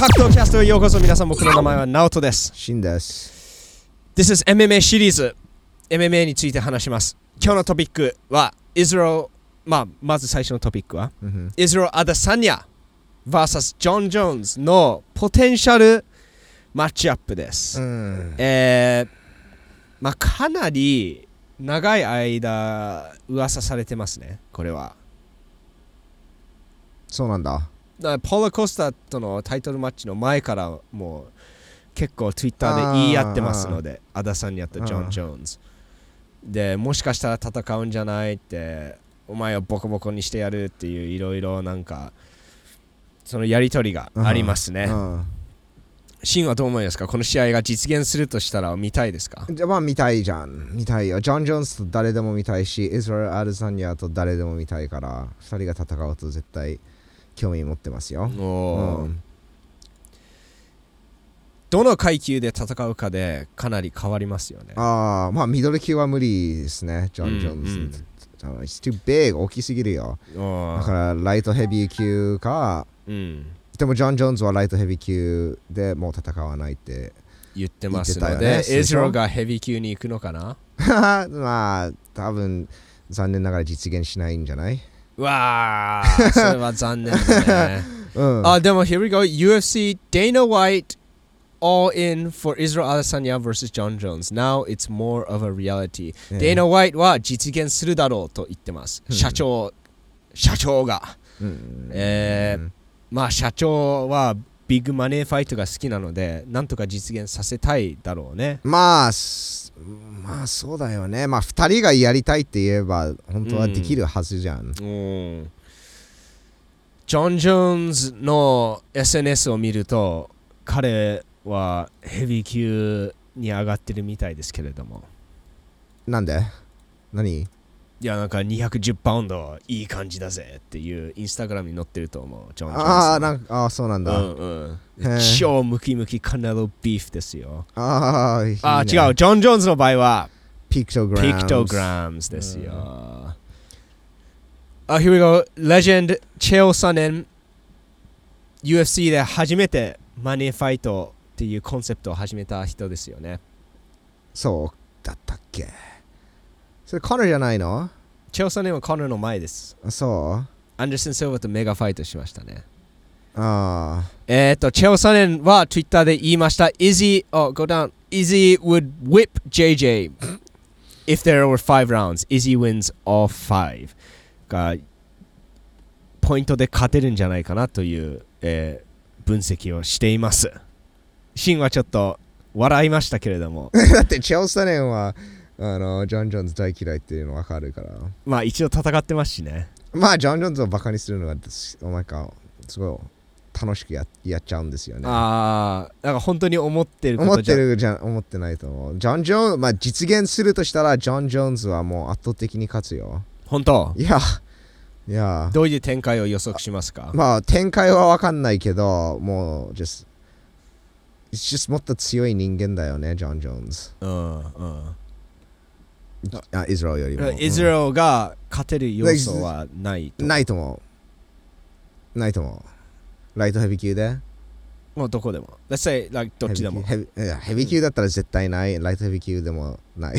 格闘キャストへようこそ。皆さん、僕の名前はナオトです。 シンです。 This is MMA シリーズ MMA について話します。今日のトピックはイスラエル、まず最初のトピックは、イスラエル・アダサニア vs ジョン・ジョーンズのポテンシャルマッチアップです。かなり長い間噂されてますね、これは。 そうなんだ。 ポーラ・コスタとのタイトルマッチの前からもう結構 Twitter で言い合ってますので、アダサニアとジョン・ジョーンズで、もしかしたら戦うんじゃないって、お前をボコボコにしてやるっていういろいろなんかそのやりとりがありますね。シンはどう思いますか？この試合が実現するとしたら見たいですか？ 見たいじゃん。見たいよ。ジョン・ジョーンズと誰でも見たいし、イスラエル・アダサニアと誰でも見たいから、2人が戦うと絶対興味持ってますよ。 どの階級で戦うかでかなり変わりますよね。 ミドル級は無理ですね、ジョン・ジョーンズ。It's too big、大きすぎるよ。だからライトヘビー級か、でもジョン・ジョーンズはライトヘビー級でもう戦わないって言ってますので、イスラエルがヘビー級に行くのかな？ 多分残念ながら実現しないんじゃない？ わー、それは残念だね。でも here we go. UFC Dana White all in for Israel Adesanya vs John Jones. Now it's more of a reality. Dana White は実現するだろうと言ってます。社長が。社長はビッグマネーファイトが好きなので、なんとか実現させたいだろうね。 そうだよね。2人がやりたいって言えば本当はできるはずじゃん。 ジョン・ジョーンズの SNS を見ると、彼はヘビー級に上がってるみたいですけれども。 なんで？何？ いや、なんか210パウンドいい感じだぜっていうインスタグラムに載ってると思う、ジョン・ジョーンズ。 そうなんだ。 超ムキムキカネロビーフですよ。 いいね、 違う、ジョン・ジョーンズの場合はピクトグラムズですよ。Here we go. レジェンドチェオ・サネン UFC で初めてマネーファイトっていうコンセプトを始めた人ですよね。 そうだったっけ？それコナーじゃないの？ チェオ・サネンはコナーの前です。 そう？ アンダーソン・シルバーとメガファイトしましたね。チェオ・サネンは Twitter で言いました。Izzy would whip JJ if there were 5 rounds. Izzy wins all 5. がポイントで勝てるんじゃないかなという、分析をしています。シンはちょっと笑いましたけれども。 だってチェオ・サネンはジョン・ジョーンズ大嫌いっていうの分かるから。 一応戦ってますしね。 ジョン・ジョーンズをバカにするのがすごい楽しく やっちゃうんですよね。 なんか本当に思ってること思ってないと思う。ジョン・ジョーンズ、実現するとしたらジョン・ジョーンズはもう圧倒的に勝つよ。 本当？ いや。 どういう展開を予測しますか？ 展開は分かんないけど、もうjustもっと強い人間だよね、ジョン・ジョーンズ。イスラエルよりも。 イスラエルが勝てる要素はないと思う。ライトヘビー級でもうどこでも。Let's say, どっちでも。 ヘビー級だったら絶対ない。ライトヘビー級でもない。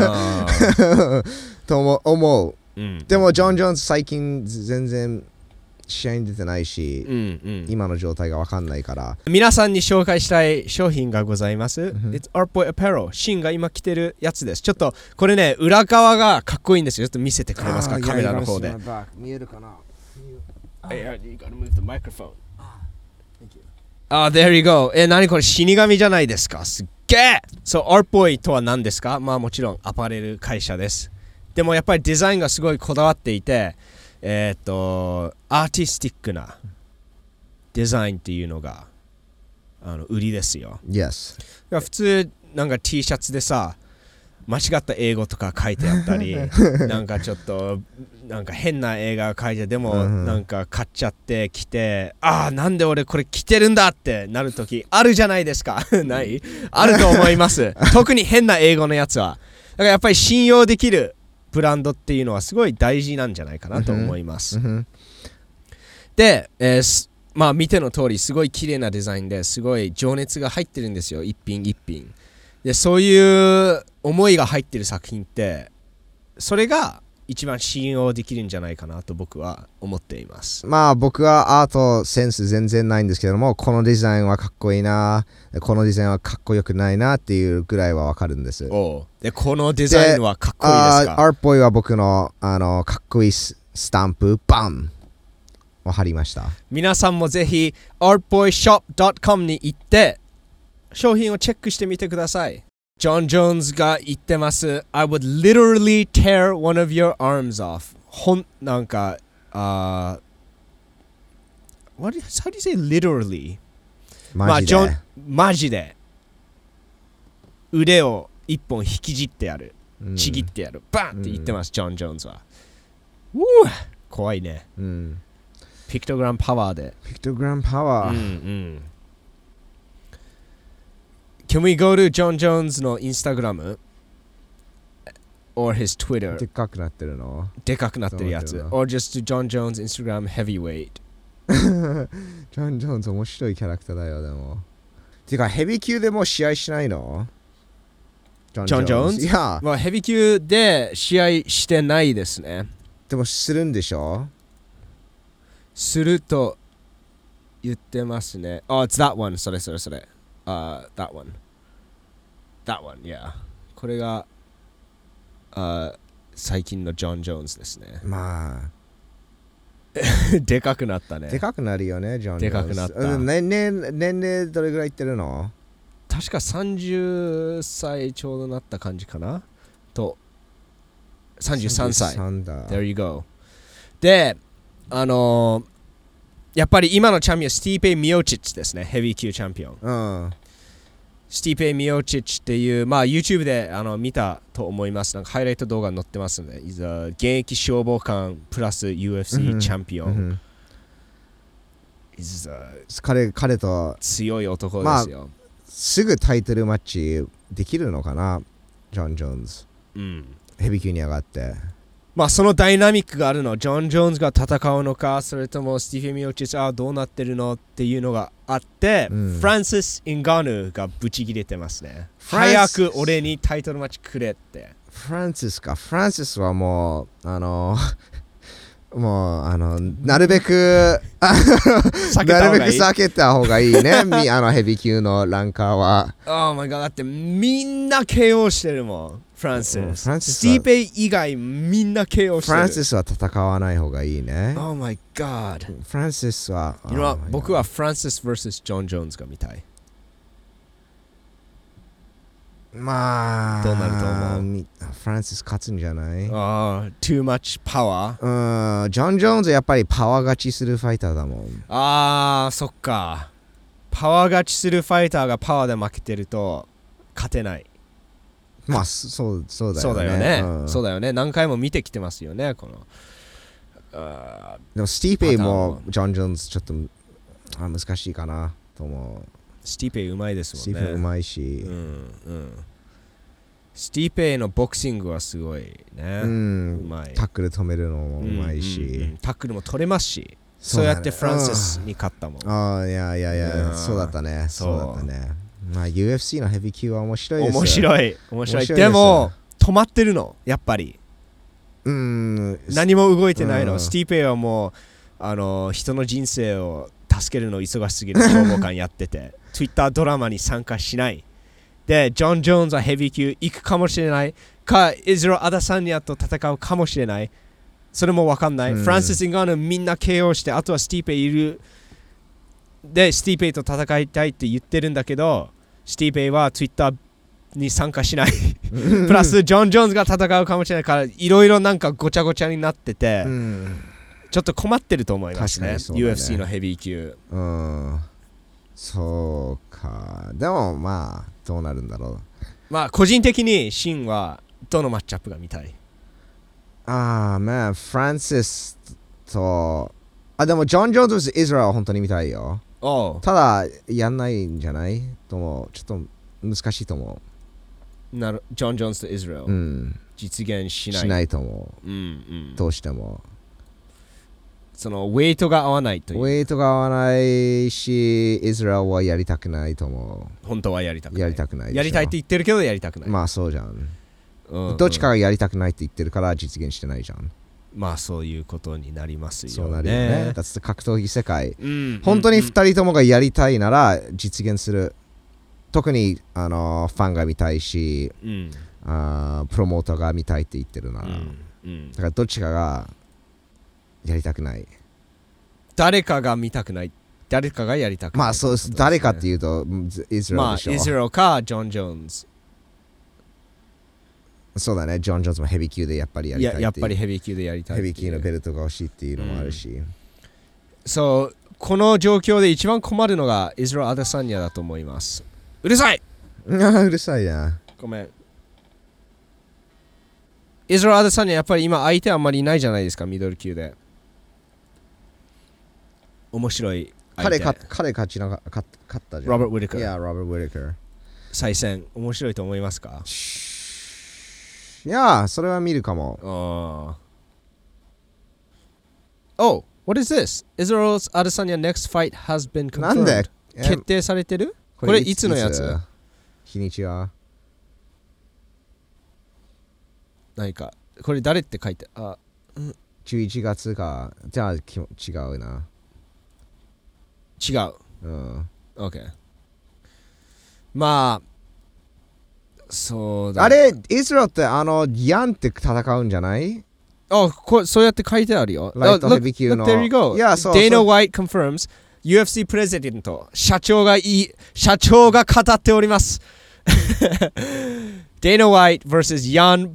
と思う。でも、ジョン・ジョーンズ最近全然試合に出てないし、今の状態が分かんないから。 皆さんに紹介したい商品がございます。It's Artboy Apparel。シンが今着てるやつです。ちょっとこれね、裏側がかっこいいんですよ。ちょっと見せてくれますか、カメラの方で。 見えるかな？ You gotta move the microphone.There you go. 何これ、死神じゃないですか。すっげえ。Artboy とは何ですか？もちろんアパレル会社です。でもやっぱりデザインがすごいこだわっていて、アーティスティックなデザインっていうのが売りですよ。 Yes. 普通なんか T シャツでさ、間違った英語とか書いてあったりなんかちょっとなんか変な映画が書いてでもなんか買っちゃって着て、なんで俺これ着てるんだってなるときあるじゃないですか。ないあると思います。特に変な英語のやつは。だからやっぱり信用できるブランドっていうのはすごい大事なんじゃないかなと思います。で、 まあ見ての通りすごい綺麗なデザインですごい情熱が入ってるんですよ、一品一品で。そういう思いが入ってる作品ってそれが一番信用できるんじゃないかなと僕は思っています。 まあ僕はアートセンス全然ないんですけども、このデザインはかっこいいな、このデザインはかっこよくないなっていうぐらいはわかるんです。 でこのデザインはかっこいいですか？ アートボーイは僕のかっこいいスタンプバンを貼りました。 皆さんもぜひ artboyshop.com に行って商品をチェックしてみてください。ジョン・ジョーンズが言ってます。I would literally tear one of your arms off. なんか、how do you say literally? マジで。 腕を一本引きじってやる。ちぎってやる。バンって言ってます、ジョン・ジョーンズは。怖いね。ピクトグラムパワーで。 ピクトグラムパワー。 Can we go to John Jones の Instagram or his Twitter? でっかくなってるの？ でかくなってるやつ。or just John Jones Instagram heavyweight. ジョン・ジョーンズ面白いキャラクターだよ、でも。てか、ヘビー級でもう試合しないの？ ジョン・ジョーンズ？ いや、 まあ、ヘビー級で試合してないですね。 でもするんでしょ？ すると言ってますね。Oh, it's that one. それ。that one. That one, yeah. これが、最近のジョン・ジョーンズですね。 まあ。 でかくなったね。 でかくなるよね、ジョン・ジョーンズ。 でかくなった。 年齢どれぐらいいってるの？ 確か30歳ちょうどなった感じかなと。33歳。There you go. で、やっぱり今のチャンピオン、スティーペイ・ミオチッチですね。ヘビー級チャンピオン。スティーペイ・ミオチッチっていう、まあ YouTube で見たと思います。なんかハイライト動画に載ってますので、現役消防官プラス UFC チャンピオン。 彼と強い男ですよ。 すぐタイトルマッチできるのかな、ジョン・ジョーンズ。ヘビー級に上がって。 まあそのダイナミックがあるの。ジョン・ジョーンズが戦うのか、それともスティーフェン・ミオチッチどうなってるのっていうのがあって、フランシス・インガヌがブチギレてますね。早く俺にタイトルマッチくれって。 フランシスはもうなるべく避けた方がいいね。ヘビー級のランカーは。 Oh my god、だってみんな KO してるもん。フランシス。スティーペイ以外みんな KO してる。 フランシスは戦わない方がいいね。 Oh my god。 フランシスは。 僕はフランシス vs ジョン・ジョーンズが見たい。 まあ、 どうなると思う？ フランシス勝つんじゃない？ too much power？ ジョン・ジョーンズやっぱりパワー勝ちするファイターだもん。 そっか。パワー勝ちするファイターがパワーで負けてると勝てない。 まあ、そうだよね。 そうだよね。何回も見てきてますよね、この。 でも、スティーペイもジョン・ジョーンズちょっと難しいかなと思う。 スティーペイうまいですもんね。 スティーペイうまいし。 スティーペイのボクシングはすごいね。うまい。 タックル止めるのもうまいし。 タックルも取れますし。そうやってフランシスに勝ったもん。 いや、そうだったね。まあ UFC のヘビー級は面白いですよ。 面白い。でも止まってるの、やっぱり。何も動いてないの。スティーペイはもう人の人生を助けるの忙しすぎる消防官やっててTwitter ドラマに参加しない。で、ジョン・ジョーンズはヘビー級行くかもしれないか、イズロ・アダサニアと戦うかもしれない。それも分かんない。フランシス・インガーヌみんな KO して、あとはスティーペイいる。で、スティーペイと戦いたいって言ってるんだけど、スティーペイは Twitter に参加しない。プラス、ジョン・ジョーンズが戦うかもしれないから、いろいろなんかごちゃごちゃになってて、ちょっと困ってると思いますね。UFC のヘビー級。 そうか。でもまあ、どうなるんだろう。 まあ、個人的にシンはどのマッチアップが見たい？ まあ、フランシスと、でもジョン・ジョーンズとイスラエルは本当に見たいよ。ただ、やんないんじゃないと思う。ちょっと難しいと思う。 ジョン・ジョーンズとイスラエル。実現しない。 しないと思う。どうしても。 そのウェイトが合わないという。 ウェイトが合わないし、イスラエルはやりたくないと思う。 本当はやりたくない。 やりたくないでしょ。 やりたいって言ってるけどやりたくない。 まあそうじゃん。 うん、 どっちかがやりたくないって言ってるから実現してないじゃん。 まあそういうことになりますよね。 そうなるよね。だって格闘技世界。 うん本当に2人ともがやりたいなら実現する。特にファンが見たいし、 うん、 プロモーターが見たいって言ってるなら、だからどっちかがやりたくない。 誰かが見たくない。誰かがやりたくない。 まあそうです。誰かっていうとイスラエルでしょ。 まあイスラエルかジョン・ジョーンズ。 そうだね。ジョン・ジョーンズもヘビー級でやっぱりやりたいっていう。 やっぱりヘビー級でやりたいっていう。 ヘビー級のベルトが欲しいっていうのもあるし。 そうこの状況で一番困るのがイスラエル・アデサニアだと思います。うるさい。 うるさいな。 ごめん。イスラエル・アデサニアやっぱり今相手あんまりいないじゃないですか、ミドル級で。面白い相手。 彼勝ったじゃん。 ロバート・ウィルカー。 いや、ロバート・ウィルカー。 再戦、面白いと思いますか？ いや、それは見るかも。 Oh, what is this? Israel's Adesanya next fight has been confirmed. なんで決定されてる？これいつのやつ？ 日にちは何かこれ誰って書いて 11月か。じゃあ違うな。 違う。 うん。 OK。まあそうだ。 あれ、イスラエルってヤンって戦うんじゃない？ そうやって書いてあるよ。 ライトヘビー級の。 There you go. Dana White confirms UFC プレゼント社長が語っております。Dana White vs. Jan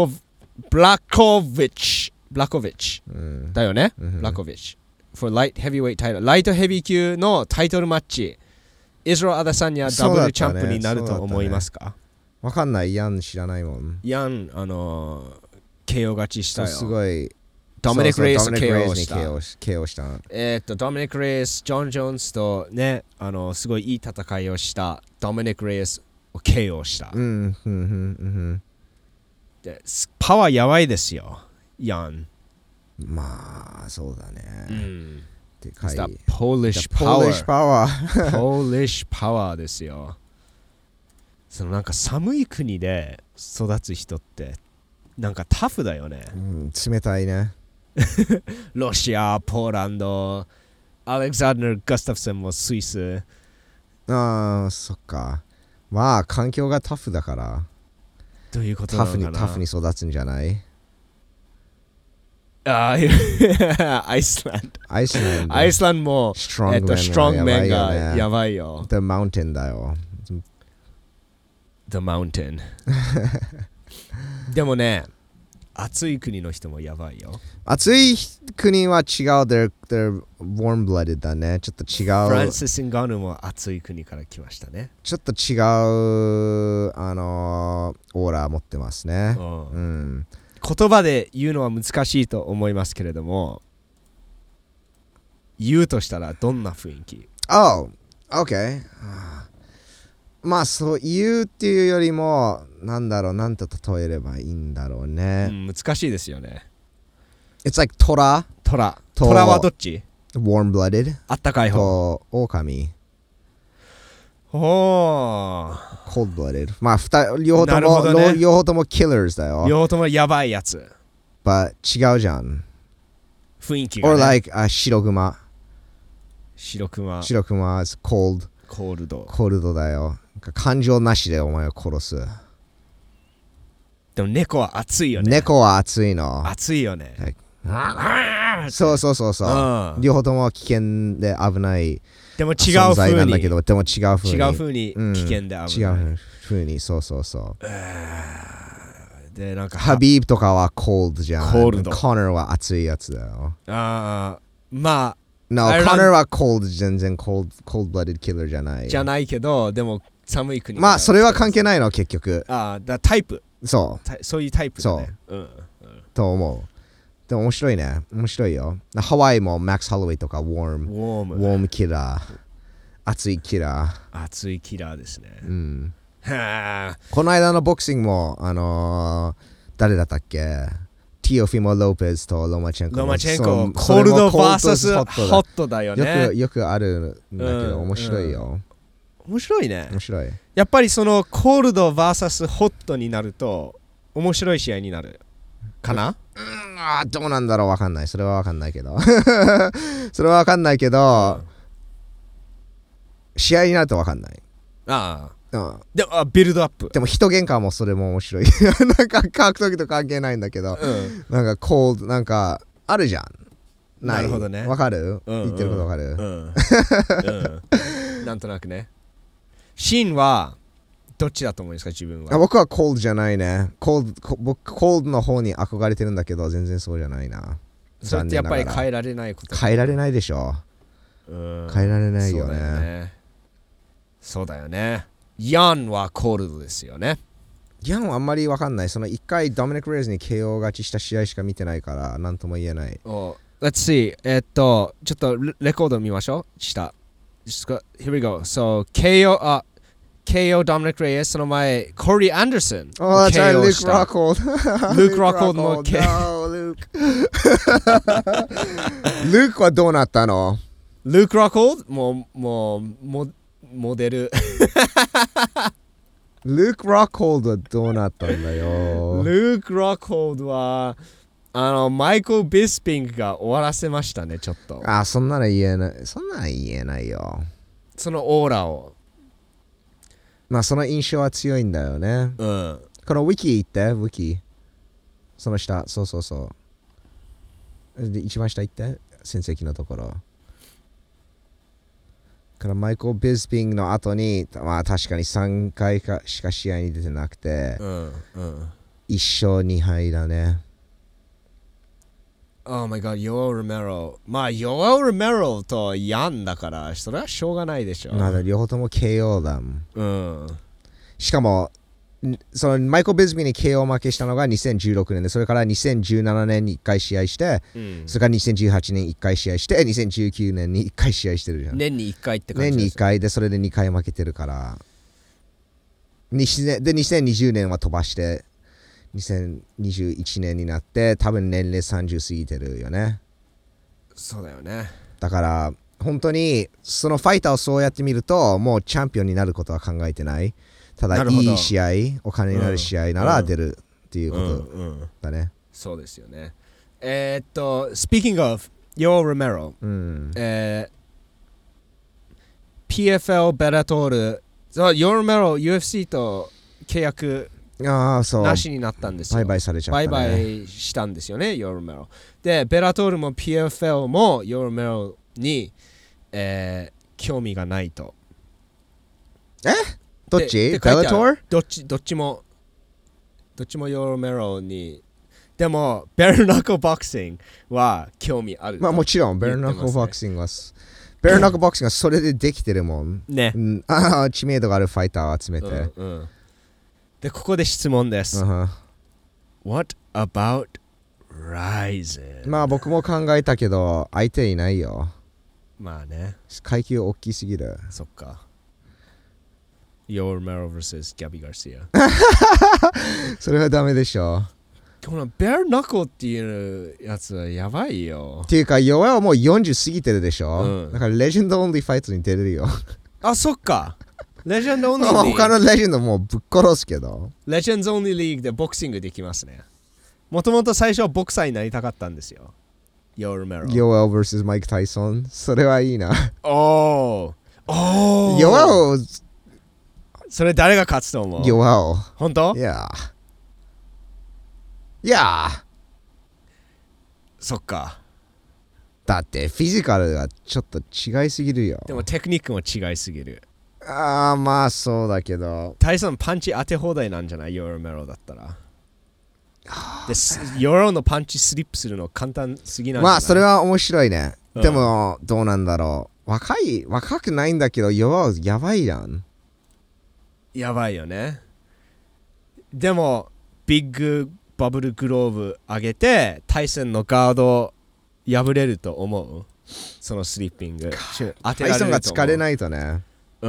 Blachowicz だよね。Blachowicz for light heavyweight title。ライトヘビー級のタイトルマッチ。イスラエル・アデサニアダブルチャンプになると思いますか？ わかんない。ヤン知らないもん。 ヤンKO 勝ちしたよ。 すごい。 ドミニク・レイス KO した。 ドミニク・レイス、ジョン・ジョーンズとね、すごいいい戦いをしたドミニク・レイスを KO した。でパワーやばいですよ、ヤン。 まあ、そうだね。でかい。 Polish power ですよ。そのなんか寒い国で育つ人ってなんかタフだよね。 冷たいね。 ロシア、ポーランド、アレクサンダー・ガスタフセンもスイス。 ああ、そっか。まあ、環境がタフだから。 どういうことなのかな。 タフに育つんじゃない？ アイスランドもストロングメンがやばいよ。 The Mountain だよ。 The Mountain でもね、暑い国の人もやばいよ。 暑い国は違う。They're warm-blooded だね。ちょっと違う。 フランシス・ンガヌも暑い国から来ましたね。 ちょっと違うオーラ持ってますね。 言葉で言うのは難しいと思いますけれども、言うとしたらどんな雰囲気？ OK。まあそう言うっていうよりもなんと例えればいいんだろうね。 難しいですよね。 It's like トラはどっち？ warm-blooded あったかい方と狼。cold-blooded まあ両方とも killers だよ。 両方ともやばいやつ。 but 違うじゃん。 雰囲気がね。 or like 白熊 is cold コールドだよ。感情なしでお前を殺す。 でも猫は熱いよね。 猫は熱いの。 熱いよね。 そう。両方とも危険で危ない。 でも違う風なんだけど、でも違う風に危険で危ない。 違う風にそう。 でなんかハビーブとかはコールドじゃん。 コールド。 コナーは熱いやつだよ。 まあ。 No、コナーはコールド、全然コールドブラディキラーじゃない。 じゃないけど、でも寒い国。 まあそれは関係ないの結局。 タイプ。 そういうタイプだね。 と思う。でも面白いね。面白いよ。ハワイもマックス・ハロウェイとかウォームキラー。熱いキラー。 熱いキラーですね。 この間のボクシングも誰だったっけ？ ティオフィモ・ロペスとロマチェンコ。 ロマチェンコ、コールド VS ホットだよね。 よくあるんだけど、面白いよ。 面白いね。 面白い。 やっぱりそのコールド VS ホットになると面白い試合になるかな。 どうなんだろう、わかんない。それはわかんないけどそれはわかんないけど、試合になるとわかんない。でもビルドアップ。 でも人喧嘩もそれも面白いなんか格闘技と関係ないんだけど、なんかコールなんかあるじゃん。 なるほどね。 わかる、言ってることわかる、 なんとなくね。シーンはどっちだと思うんですか、自分は。 僕はコールじゃないね。僕コールの方に憧れてるんだけど、全然そうじゃないな。 それってやっぱり変えられないこと。 変えられないでしょ。変えられないよね。 そうだよね。ヤンはコールドですよね。 ヤンはあんまりわかんない。その1回ドミニク・レイズに KO 勝ちした試合しか見てないから、なんとも言えない。 Let's see. ちょっとレコード見ましょう。下。Here we go. So, KO Dominic Reyes その前、コーリー・アンダーソン。 that's right, Luke Rockhold. Luke Rockhold の KO。Luke はどうなったの？ Luke Rockhold もうモデル Luke Rockhold はどうなったんだよ。 Luke Rockhold はマイクル・ビスピングが終わらせましたね、ちょっと。 そんなの言えない。そんなの言えないよ。 そのオーラを。 その印象は強いんだよね。このウィキ行って、ウィキ。その下、そう。で、一番下行って、戦績のところ。からマイクル・ビスピングの後に、確かに3回しか試合に出てなくて、1勝2敗だね。 Oh my god, Yoel Romero。Yoel Romero とヤンだから、それはしょうがないでしょ。 両方とも KO だもん。しかも、そのマイクル・ビスピングに KO 負けしたのが2016年で、それから2017年に1回試合して、それから2018年1回試合して、2019年に1回試合してるじゃん。 年に1回って感じです。年に1回で、それで2回負けてるから。で、2020年は飛ばして、2021年になって多分年齢30過ぎてるよね。 そうだよね。 だから本当にそのファイターをそうやって見るともうチャンピオンになることは考えてない。ただいい試合、お金になる試合なら出るっていうことだね。 そうですよね。Speaking of Yoel Romero、PFL ベラトール、Yoel Romero UFC と契約そうなしになったんですよ。 売買されちゃったね。 売買したんですよね、ヨルメロ。で、ベラトールも PFL もヨルメロに、興味がないと。 どっち？ベラトール？ どっちもヨルメロに。でも、ベルナックルボクシングは興味ある。 もちろん、ベルナックルボクシングは、ベルナックルボクシングはそれでできてるもん。 ね。 知名度があるファイターを集めて。 で、ここで質問です。What about Ryzen？ 僕も考えたけど、相手いないよ。 ね。 階級大きすぎる。 そっか。Yoel Romero vs ギャビー・ガルシア。 それはダメでしょ。 このベルナックルっていうやつはやばいよ。 っていうか、ヨエはもう40過ぎてるでしょ。だからレジェンドオンリーファイトに出れるよ。 そっか。レジェンドオンリーリーグ。 他のレジェンドもうぶっ殺すけど。 レジェンドオンリーリーグでボクシングできますね。もともと最初はボクサーになりたかったんですよ。ヨエル・メロ。 ヨエル vs マイク・タイソン。それはいいな。 ヨエル。 それ誰が勝つと思う？ ヨエル。 本当？ いや。 そっか。 だってフィジカルがちょっと違いすぎるよ。 でもテクニックも違いすぎる。 そうだけど。 タイソンパンチ当て放題なんじゃない？ヨエル・メロだったら。で、ヨエルのパンチスリップするの簡単すぎなんじゃない？ それは面白いね。でもどうなんだろう。若くないんだけど、ヨエルやばいじゃん。 やばいよね。でもビッグバブルグローブ上げてタイソンのガード破れると思う？そのスリッピングタイソンが疲れないとね。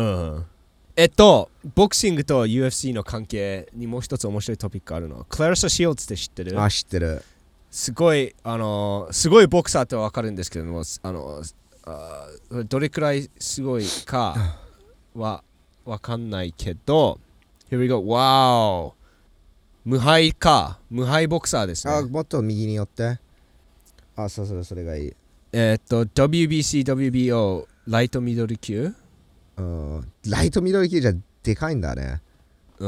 ボクシングと UFC の関係にもう一つ面白いトピックあるの。クラリサ・シールズって知ってる？ 知ってる。 すごいすごいボクサーってわかるんですけども、どれくらいすごいかはわかんないけど、Here we go. Wow. 無敗ボクサーですね。 もっと右に寄って。それがいい。 WBC、WBO、ライトミドル級。 ライトミドル級じゃでかいんだね。で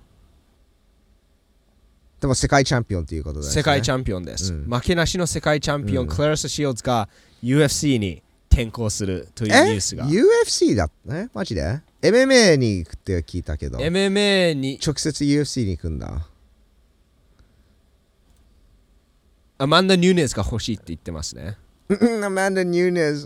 も世界チャンピオンということですね。 世界チャンピオンです。負けなしの世界チャンピオン、クララス・シールズが UFC に転向するというニュースが。 UFC だねマジで ?MMA に行くって聞いたけど。 MMA に直接 UFC に行くんだ。 アマンダ・ニューネズが欲しいって言ってますね。 アマンダ・ニューネズ。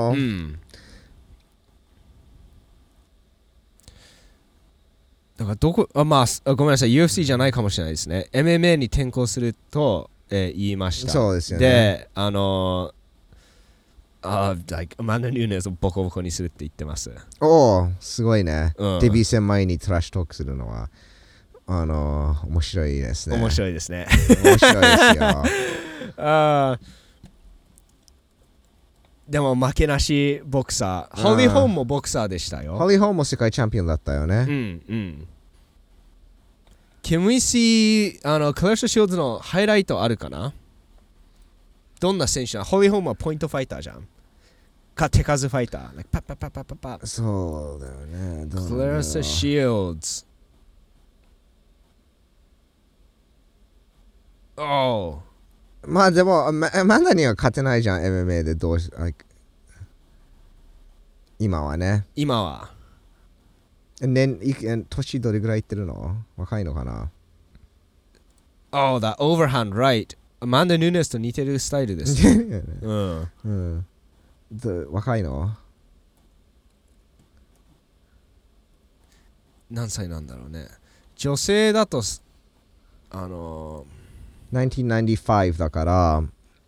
だからごめんなさい、UFC じゃないかもしれないですね。MMA に転向すると、言いました。 そうですよね。 で、アマンダ・ニューネズをボコボコにするって言ってます。 すごいね。デビュー戦前にトラッシュトークするのは、面白いですね。 面白いですね。 面白いですよ。 でも負けなしボクサー。ホリー・ホームもボクサーでしたよ。 ホリー・ホームも世界チャンピオンだったよね。 Can we see クラッシュ・シールズのハイライトあるかな？どんな選手なの？ホリー・ホームはポイントファイターじゃん。手数ファイター。パッパッパッパッパッパッ。 そうだよね。 クラッシュ・シールズ。 まあでもマダには勝てないじゃん MMA で今はね。 今は年どれぐらいいってるの？若いのかな？ that overhand right。アマンダ・ヌーネスと似てるスタイルです。 若いの？ 何歳なんだろうね。女性だと 1995だから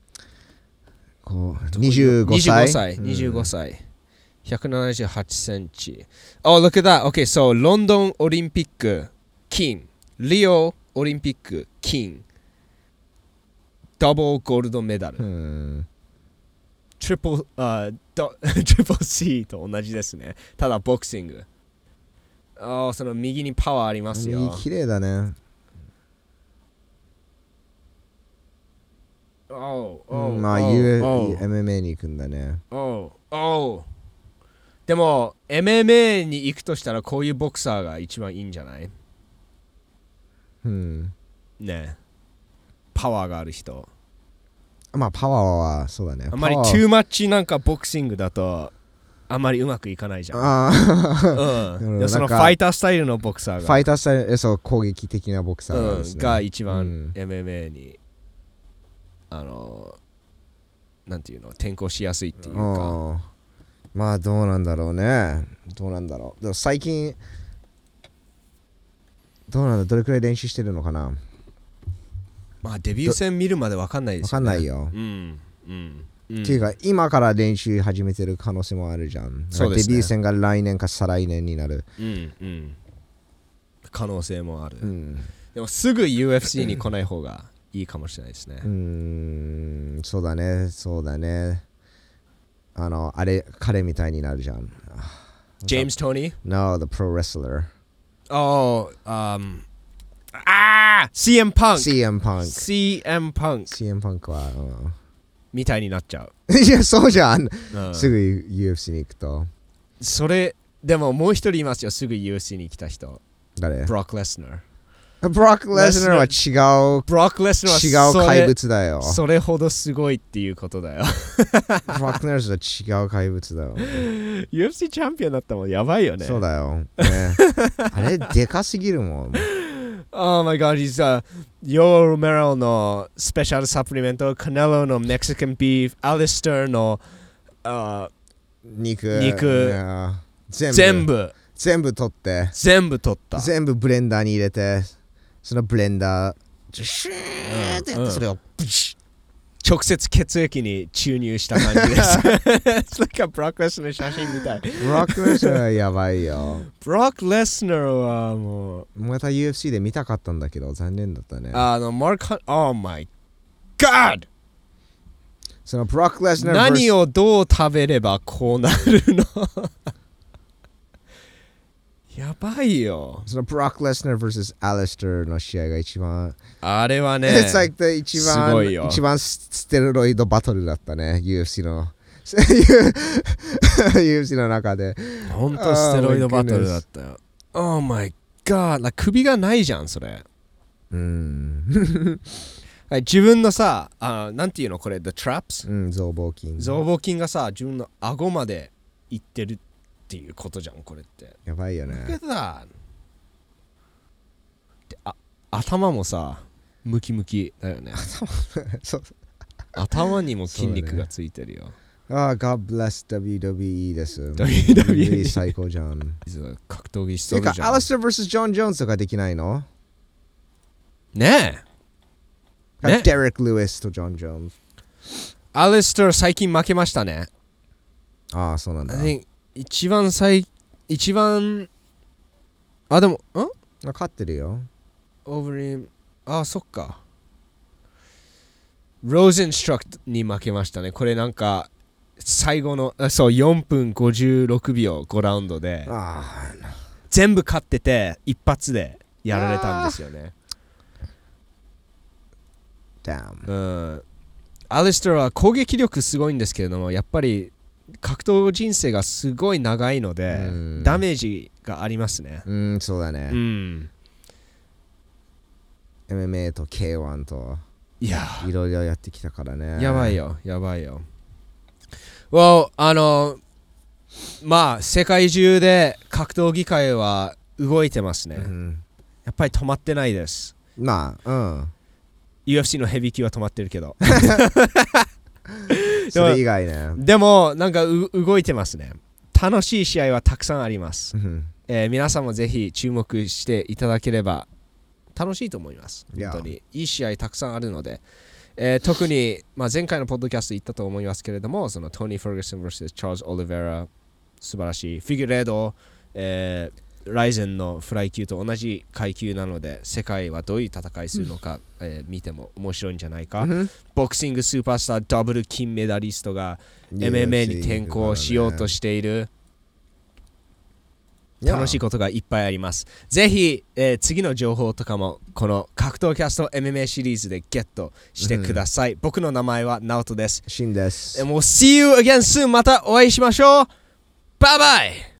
25歳。 25歳。178センチ。look at that. Okay, so ロンドンオリンピック金。リオオリンピック金。ダブルゴールドメダル。トリプル C と同じですね。ただボクシング。その右にパワーありますよ。 綺麗だね。まあ、MMA に行くんだね。 でも、MMA に行くとしたらこういうボクサーが一番いいんじゃない？ね。パワーがある人。 まあ、パワーはそうだね。 あまりトゥーマッチなんかボクシングだとあまりうまくいかないじゃん。そのファイタースタイルのボクサーが。 ファイタースタイル、そう、攻撃的なボクサーですね。 が一番 MMA に。なんていうの転校しやすいっていうか。 まあどうなんだろうね。どうなんだろう。でも最近どうなんだ、どれくらい練習してるのかな。 まあデビュー戦見るまで分かんないですよね。 分かんないよ。っていうか今から練習始めてる可能性もあるじゃん。そうですね。デビュー戦が来年か再来年になる。 可能性もある。でもすぐ UFC に来ない方がいいかもしれないですね。 そうだね、そうだね。彼みたいになるじゃん。 ジェームズ・トニー No, the pro wrestler. CM Punk. CM Punk. CM Punk. CM Punk は、 みたいになっちゃう。いや、そうじゃん。すぐ UFC に行くと。 それ、でももう一人いますよ、すぐ UFC に来た人。 誰？ ブロック・レスナー。 ブロック・レスナーは違う。 ブロック・レスナーは違う怪物だよ。 それほどすごいっていうことだよ。 ブロック・レスナーは違う怪物だよ。 UFC チャンピオンだったもんやばいよね。 そうだよ。ね、あれでかすぎるもん。 Oh my god, he's Yoel Romero のスペシャルサプリメント、カネロのメキシカンビーフ、アリスターの肉全部取って全部取った全部ブレンダーに入れてそのブレンダーシューってやってそれを直接血液に注入した感じです。It's like ブロック・レスナーの写真みたい。 ブロック・レスナーはやばいよ。 ブロック・レスナーはもうまた UFC で見たかったんだけど残念だったね。 マーク・Oh my God! そのブロック・レスナー何をどう食べればこうなるのやばいよ。 そのブロック・レスナー vs アレスターの試合が一番あれはね It's like the 一すごいよ番一番ステロイドバトルだったね UFC のUFC の中でほんとステロイドバトルだったよ。Oh my god、 首がないじゃんそれ。はい、自分のさ、なんていうのこれ The traps、 増膀筋がさ自分の顎までいってるっていうことじゃんこれって。 やばいよね。 で頭もさムキムキだよね。 そう頭にも筋肉がついてるよ。 God bless WWE です。 WWE 最高じゃん。 格闘技しそうじゃん。 アレスター vs ジョン・ジョーンズとかできないのねえ。 デレック・ルイスとジョン・ジョーンズ。 アレスター最近負けましたね。 ああ、そうなんだ。 一番でも勝ってるよ。 オーブリンそっか。ローゼンストラクに負けましたね。これなんか最後のそう4分56秒5ラウンドで全部勝ってて一発でやられたんですよね。アレスターは攻撃力すごいんですけれどもやっぱり格闘人生がすごい長いのでダメージがありますね。 そうだね。MMA と K1 といろいろやってきたからね。 やばいよ。Well、まあ世界中で格闘技界は動いてますね。やっぱり止まってないです。UFC のヘビー級は止まってるけどそれ以外ね。 でもなんか動いてますね。楽しい試合はたくさんあります。皆さんもぜひ注目していただければ楽しいと思います。本当にいい試合たくさんあるので、特に、前回のポッドキャスト言ったと思いますけれども、そのトニー・フェルガソン vs チャールズ・オリベラ素晴らしい。フィギュレード、ライゼンのフライ級と同じ階級なので世界はどういう戦いするのか、見ても面白いんじゃないか。ボクシングスーパースターダブル金メダリストが MMA に転向しようとしている。楽しいことがいっぱいあります。ぜひ、次の情報とかもこの格闘キャスト MMA シリーズでゲットしてください。僕の名前はナオトです。 シンです。 もう See you again soon。またお会いしましょう。バイバイ。